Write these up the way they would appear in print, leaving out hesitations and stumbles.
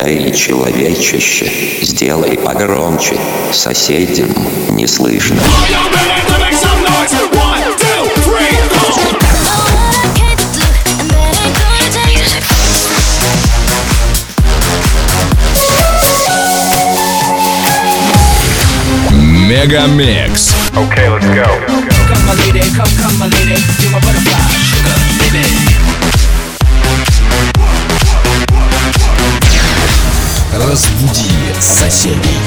Эй, человечище, сделай погромче, соседям не слышно. Мегамикс. Okay, let's go. Come my lady, come my lady, you're my butterfly, sugar, baby. Разбуди соседей.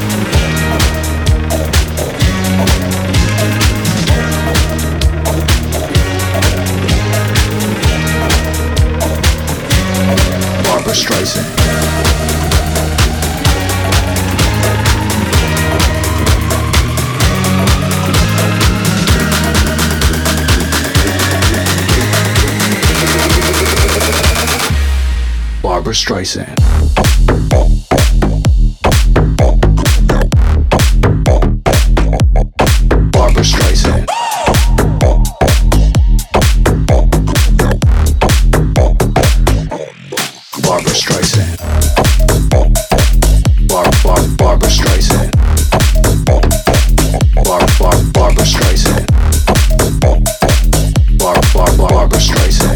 Barbra Streisand. Barbra Streisand. Barbra Streisand. Barbra Streisand. Barbra Streisand. Barbra Streisand. Barbra Streisand.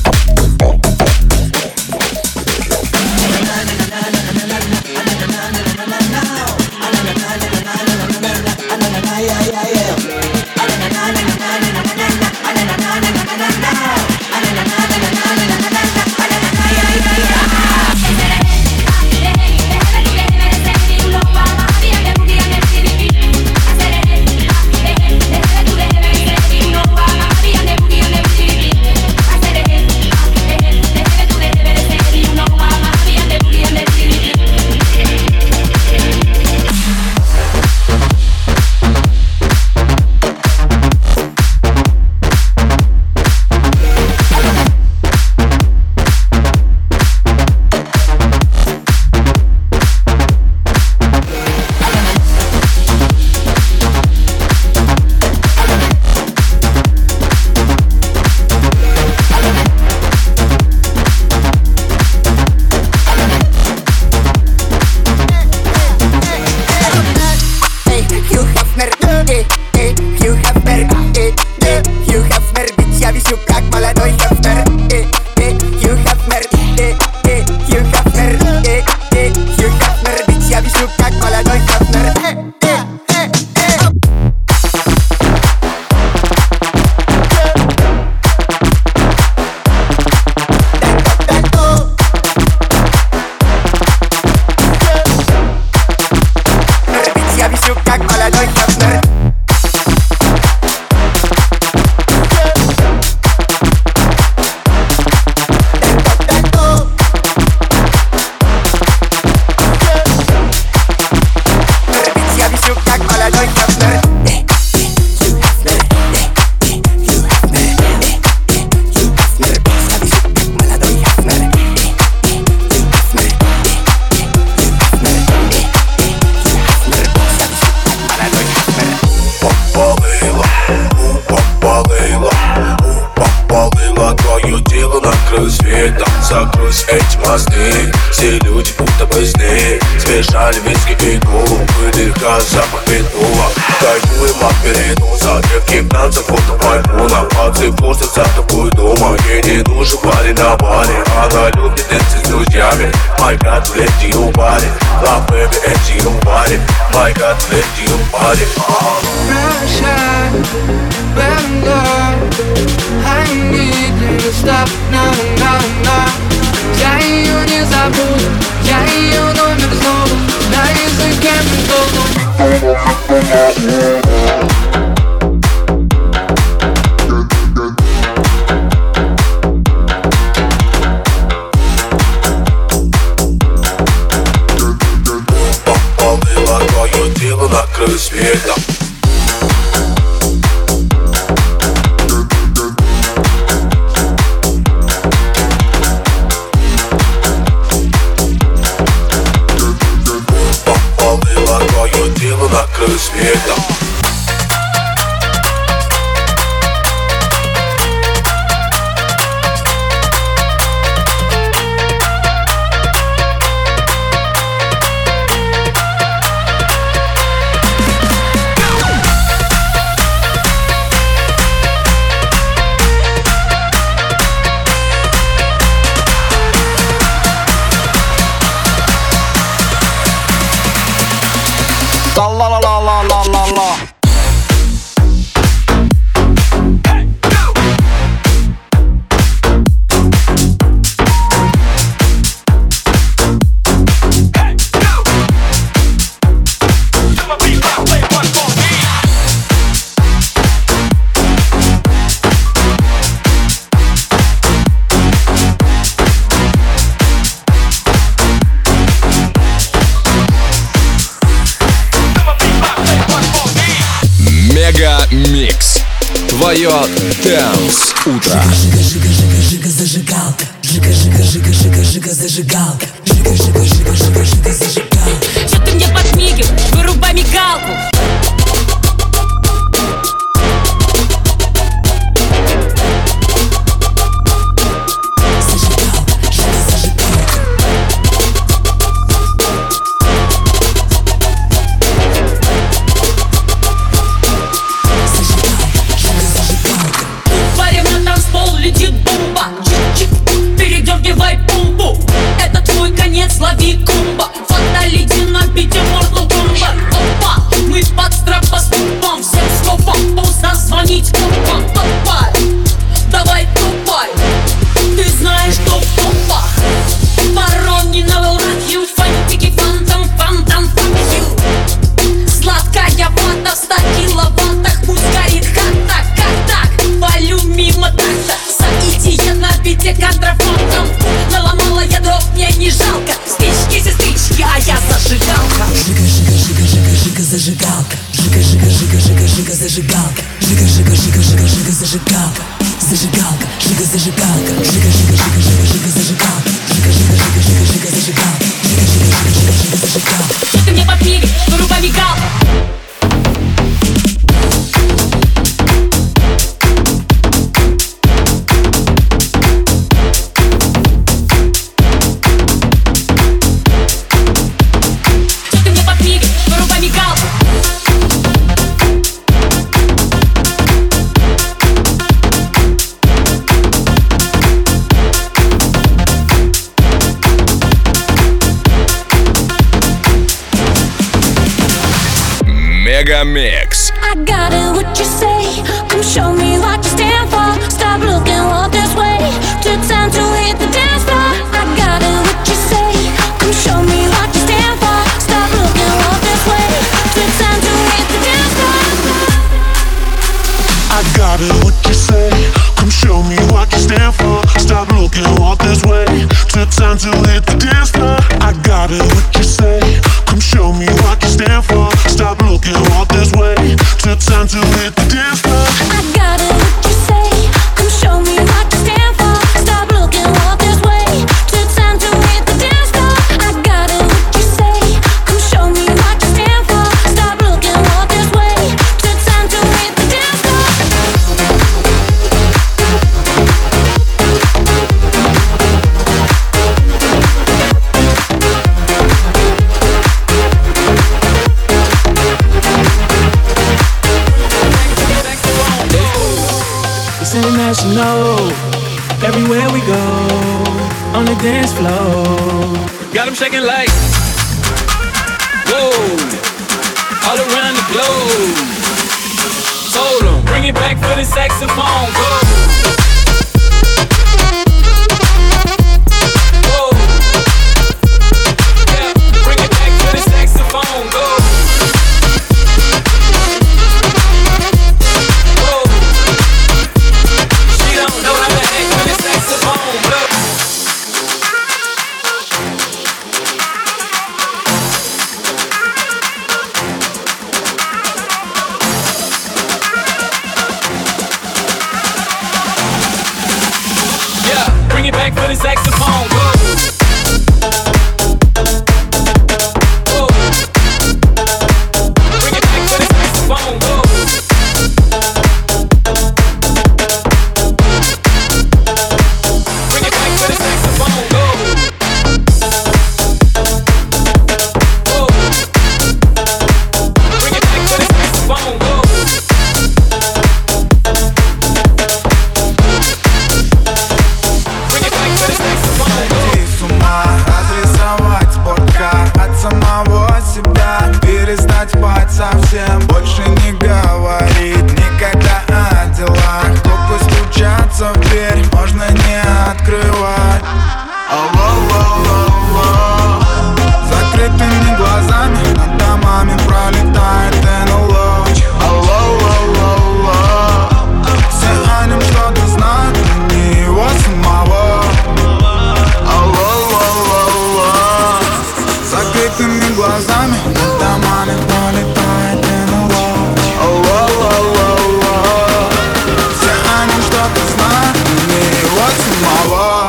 Закройся эти мосты, все люди будто бы сны. Смешали виски и колу, выдыха запах петула. Кайфуем от передоза, крепких танцев фото маймуна. Пацы просто за тобой дома, ей не нужен парень на баре. Она любит танцы с друзьями, my god, let you party. Love baby, let you party, my god, let you party. Russia, when I need you to stop, no, no, no. Я ее не забуду, я ее номер снова на языке Попалила твое тело на краю света. На краю света. Ла-ла-ла-ла-ла-ла-ла. Микс. Твое Dance утро. Жига зажигалка, жига зажигалка, жига зажигалка. Что ты мне подмигиваешь? Вырубай мигалку. Лови кумба, фаталити на бите Mortal Kombat. Опа, мы под стропоступом, всем скопом поздно звонить копам. Топай, давай топай, ты знаешь, что в топах. Ворони на волнах, ют, фантики, фантом, фантом, фантил. Сладкая вата в 100 киловаттах, пусть горит хата, как так, валю мимо такта. Садите на бите контрафактом, наломала я дров, мне не жалко. Спички, сестрички, а я зажигалка. Жига зажигалка, жига зажигалка, жига зажигалка, зажигалка, жига зажигалка, жига зажигалка, жига зажигалка, жига зажигалка. Что ты мне подмигиваешь? Вырубай мигалку. Мегамикс. I got it, what you say? Come show me what you stand for. Stop looking, walk this way. Took time to hit the dance floor. I got it, what you say? Come show me what you stand for. Stop looking, walk this way. Took time to hit the dance floor. I got it, what you say? Come show me what you stand for. Stop looking, walk this way. Took time to hit the dance floor. I got it, what you say? Come show me what you stand for. Stop looking, walk this way. Took time to hit the dance floor. I got it, what you say? Come show me what you stand for. Stop looking, walk this way. Took time to hit the dance floor. I got it, what you say? Come show me what you stand for. Stop looking, walk this way. Took time to hit the dance floor. It's international, everywhere we go, on the dance floor. Got 'em shaking like, whoa, all around the globe. Told 'em, bring it back for the saxophone, go. Whoa, yeah, bring it back for the saxophone, go. глазами над домами пролетает НЛО. Все они что-то знают, но не его самого.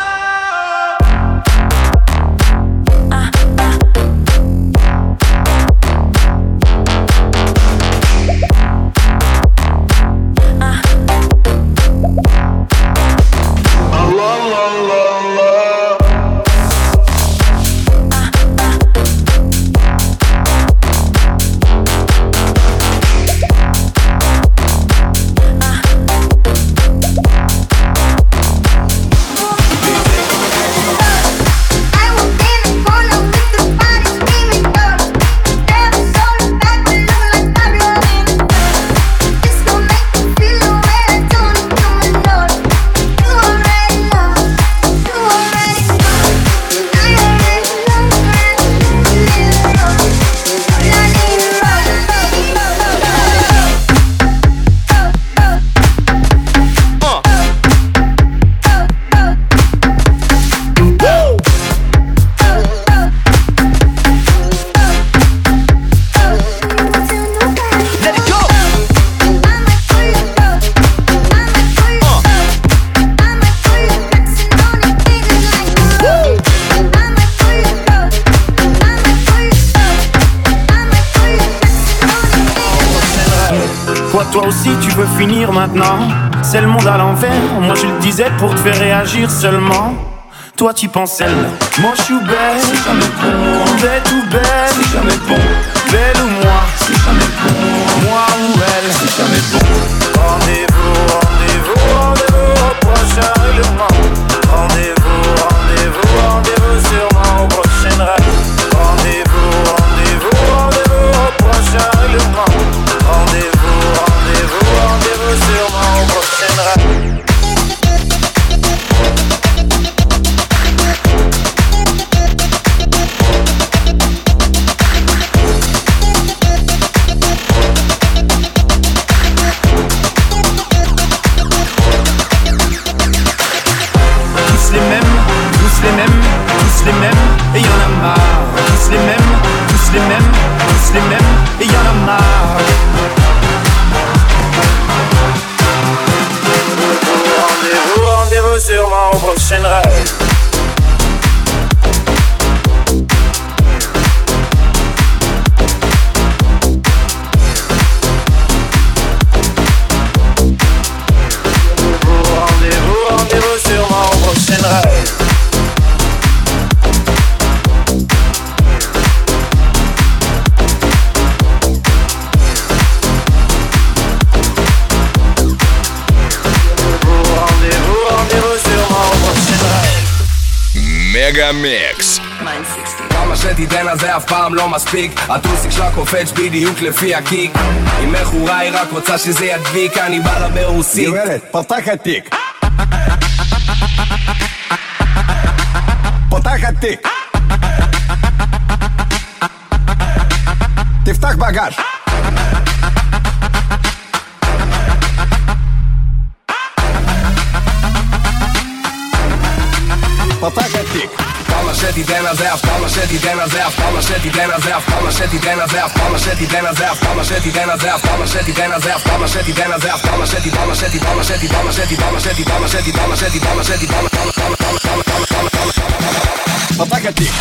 Toi aussi tu veux finir maintenant. C'est le monde à l'envers. Moi je le disais pour te faire réagir seulement. Toi tu penses elle. Moi je suis belle. C'est jamais bon. Bête ou belle. C'est jamais bon. Belle ou moi. C'est jamais bon. Moi ou elle. C'est jamais bon. Rendez-vous, rendez-vous, rendez-vous au prochain règlement. Rendez-vous, rendez-vous, rendez-vous sûrement au prochain rêve. Rendez-vous, rendez-vous, rendez-vous au prochain règlement. Rendez-vous, rendez-vous, rendez-vous sûrement au prochain rêve. Tous les mêmes, tous les mêmes, tous les mêmes, et y'en a marre. Tous les mêmes, tous les mêmes, tous les mêmes, et y'en a marre. Rendez-vous, rendez-vous sûrement au prochain rêve. Rendez-vous, rendez-vous sûrement au prochain rêve. מגה-מיקס. כמה שתיתן אז זה אף פעם לא מספיק. הטוסיק שלה קופץ בדיוק לפי הקיק. אם מכורה היא רק רוצה שזה ידביק. אני בא לה ברוסית. גברת, פתח התיק. פתח התיק. תפתח בגש. פתח התיק. כמה שתיתן אז זה אף כמה שתיתן אז זה אף כמה שתיתן אז זה אף כמה שתיתן אז זה אף כמה שתיתן אז זה אף כמה שתיתן אז זה אף כמה שתיתן אז זה אף כמה שתיתן אז זה אף כמה שתיתן כמה שתיתן כמה שתיתן כמה שתיתן כמה שתיתן כמה שתיתן כמה שתיתן כמה שתיתן פתח התיק.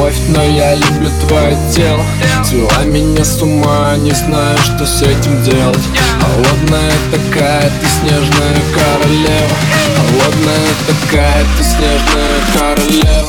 любовь, но я люблю твое тело. Свела меня с ума, не знаю, что с этим делать. Холодная такая, ты снежная королева. Холодная такая, ты снежная королева.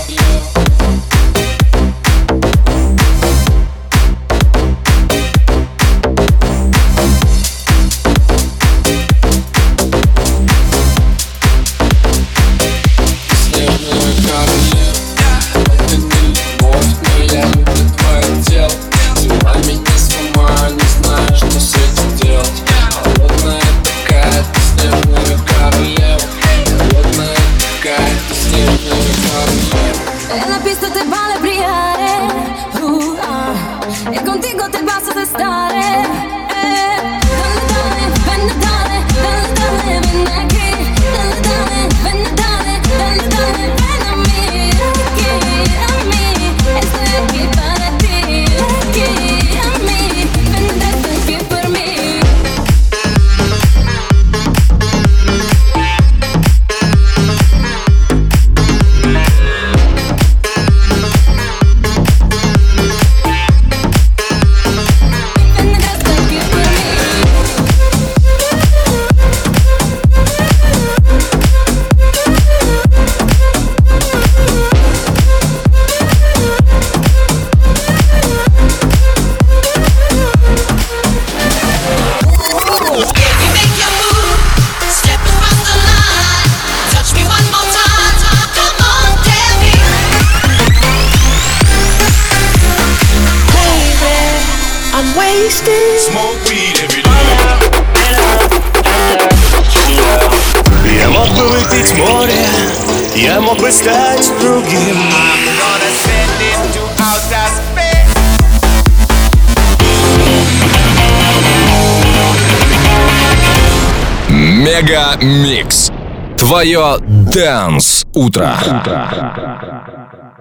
En la pista te vale brillare, e contigo te basta stare. Dalle dale, ven dale, dalle dale, ven aquí. Dalle dale, ven dale, dalle dale, ven a mí, estoy aquí para ti, aquí a mí, vendrás aquí por mí. Smoke weed every day. Я мог бы выпить море, я мог бы стать другим. Мега Микс. Твое Dance утро.